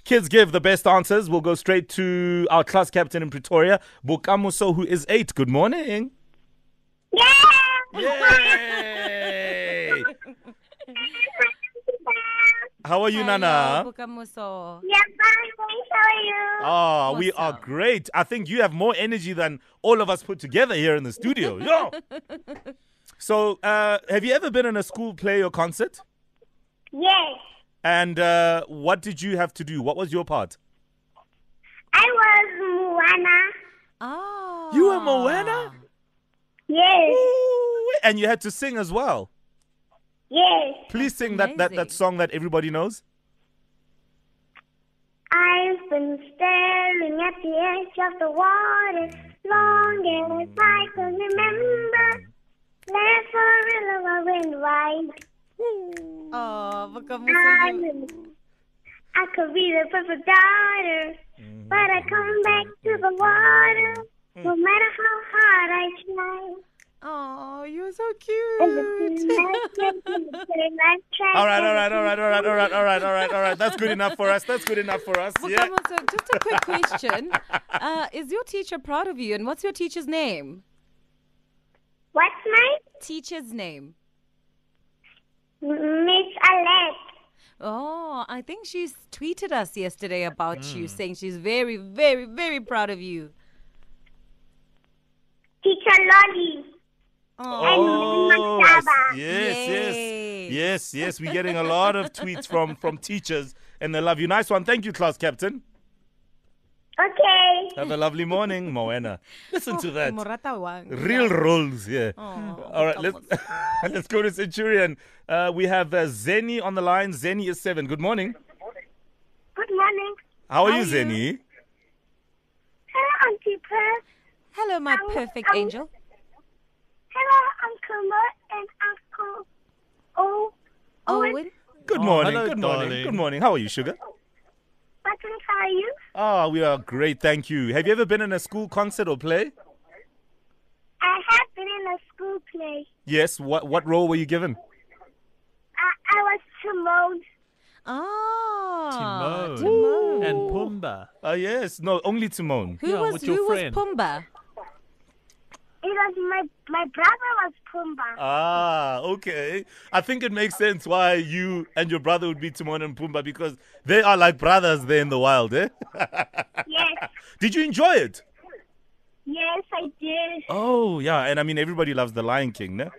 kids give the best answers, we'll go straight to our class captain in Pretoria, Bokamoso, who is 8. Good morning. Yay! How are you, Nana? Bukamuso. Yeah, fine. Thanks. How are you? Oh, we are Awesome. great. I think you have more energy than all of us put together here in the studio. Yo! So, have you ever been in a school play or concert? Yes. And what did you have to do? What was your part? I was Moana. Oh. You were Moana? Yes. Ooh, and you had to sing as well. Yes. Please sing that amazing. song that everybody knows. I've been staring at the edge of the water long as I can remember. Left for a river I went right. Oh, Bukamuso. I could be the perfect daughter, but I come back to the water no matter how hard I try. Oh, you're so And the cute. All right. That's good enough for us. Yeah. Bukamuso, just a quick question. Is your teacher proud of you? And what's your teacher's name? What's my Teacher's name. Miss Alette? Oh, I think she's tweeted us yesterday about you, saying she's very, very, very proud of you. Teacher Lolly. Oh, Maktaba. yes. We're getting a lot of tweets from teachers, and they love you. Nice one. Thank you, class captain. Okay. Have a lovely morning, Moana. Listen to that. Morata wang. Real roles, yeah. Oh, All right, let's go to Centurion. We have Zeni on the line. Zeni is 7. Good morning. Good morning. How are How you, are you? Zeni? Hello, Auntie Pearl. Hello, my perfect angel. Hello, Uncle Mo and Uncle Owen. Good morning. hello, Good morning. darling. Good morning. How are you, Sugar? Button, how are you? Oh, we are great. Thank you. Have you ever been in a school concert or play? I have been in a school play. Yes. What role were you given? I was Timon. Ah, Timon. And Pumbaa. Yes. No, only Timon. Who Yeah, was with your who was friend. Pumbaa? It was my brother was Pumbaa. Ah, okay. I think it makes sense why you and your brother would be Timon and Pumbaa, because they are like brothers there in the wild, eh? Yes. Did you enjoy it? Yes, I did. Oh, yeah. And I mean, everybody loves The Lion King, no?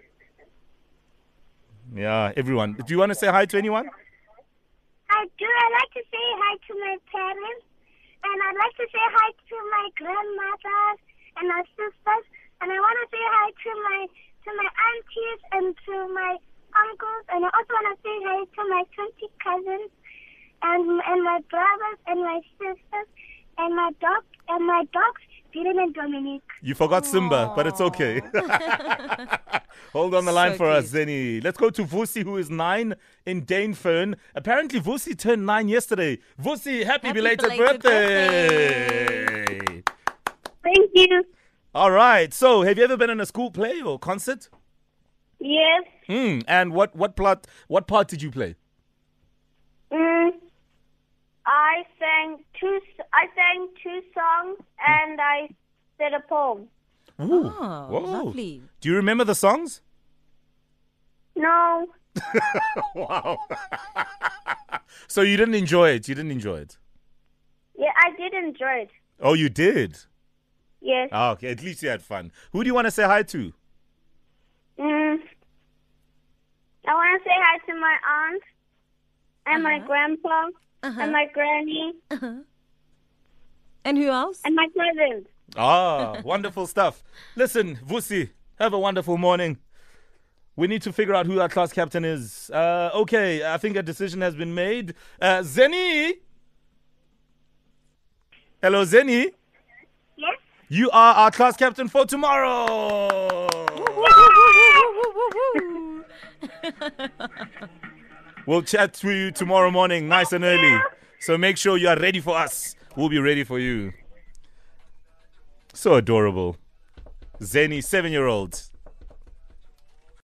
Yeah, everyone. Do you want to say hi to anyone? I do. I like to say hi to my parents, and I'd like to say hi to my grandmothers and my sisters, and I want to say hi to my aunties and to my uncles, and I also want to say hi to my 20 cousins and my brothers and my sisters and my dogs, Dylan and Dominic. You forgot Simba, but it's okay. Hold on the line So for us, cute. Zeni. Let's go to Vusi, who is 9 in Danefern. Apparently, Vusi turned 9 yesterday. Vusi, happy belated birthday! Thank you. All right. So, have you ever been in a school play or concert? Yes. And what part did you play? I sang two songs and I said a poem. Ooh. Oh, Whoa. lovely. Do you remember the songs? No. Wow. So you didn't enjoy it? Yeah, I did enjoy it. Oh, you did? Yes. Ah, okay. At least you had fun. Who do you want to say hi to? I want to say hi to my aunt and my grandpa and my granny And who else? and my cousins. Ah, wonderful stuff. Listen, Vusi, have a wonderful morning. We need to figure out who our class captain is. Okay, I think a decision has been made. Zeni? Hello, Zeni? Yes? You are our class captain for tomorrow. We'll chat to you tomorrow morning, nice and early. So make sure you are ready for us. We'll be ready for you. So adorable. Zeni, 7-year-old.